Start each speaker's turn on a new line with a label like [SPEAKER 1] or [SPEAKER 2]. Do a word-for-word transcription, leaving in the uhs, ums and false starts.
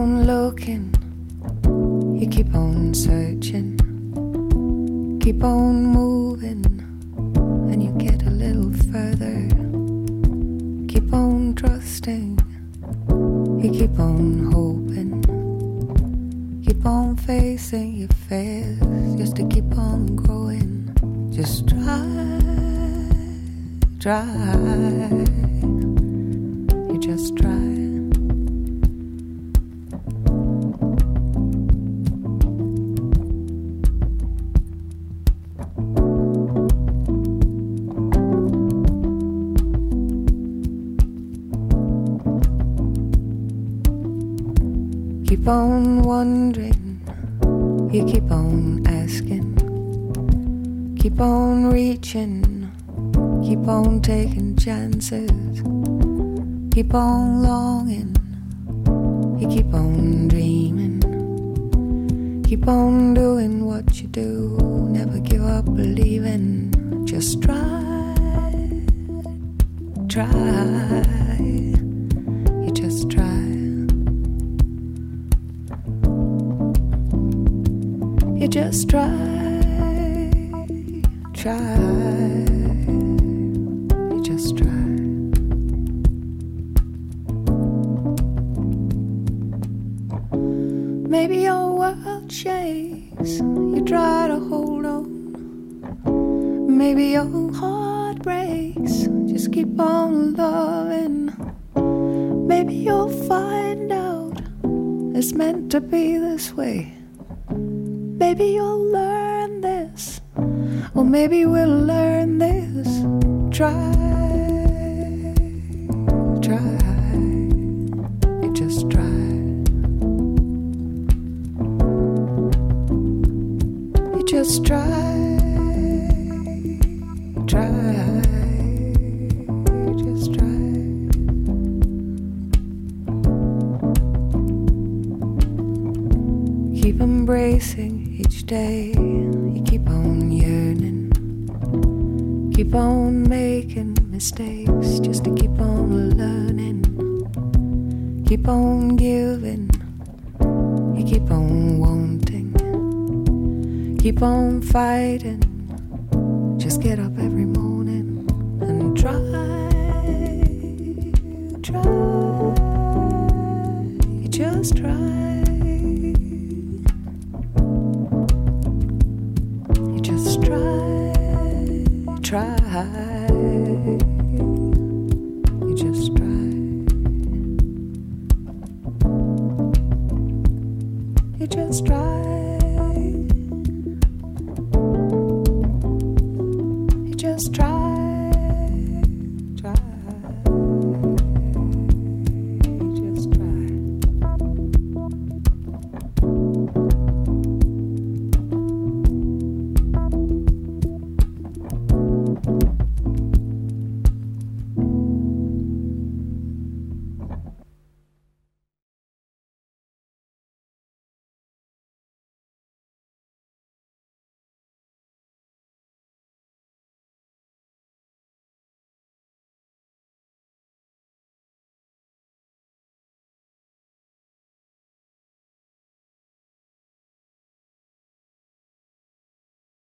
[SPEAKER 1] on looking, you keep on searching, keep on moving, and you get a little further. Keep on trusting, you keep on hoping, keep on facing your fears, just to keep on growing. Just try, try, you just try. Keep on wondering, you keep on asking, keep on reaching, keep on taking chances, keep on longing, you keep on dreaming, keep on doing what you do, never give up believing. Just try, try, you just try. You just try, try, you just try. Maybe your world shakes, you try to hold on. Maybe your heart breaks, just keep on loving. Maybe you'll find out it's meant to be this way. Maybe you'll learn this, or maybe we'll learn this. Try, try, you just try. You just try, try, you just try. Keep embracing each day, you keep on yearning, keep on making mistakes, just to keep on learning, keep on giving, you keep on wanting, keep on fighting, just get up every morning and try, try, you just try. Try, you just try, you just try.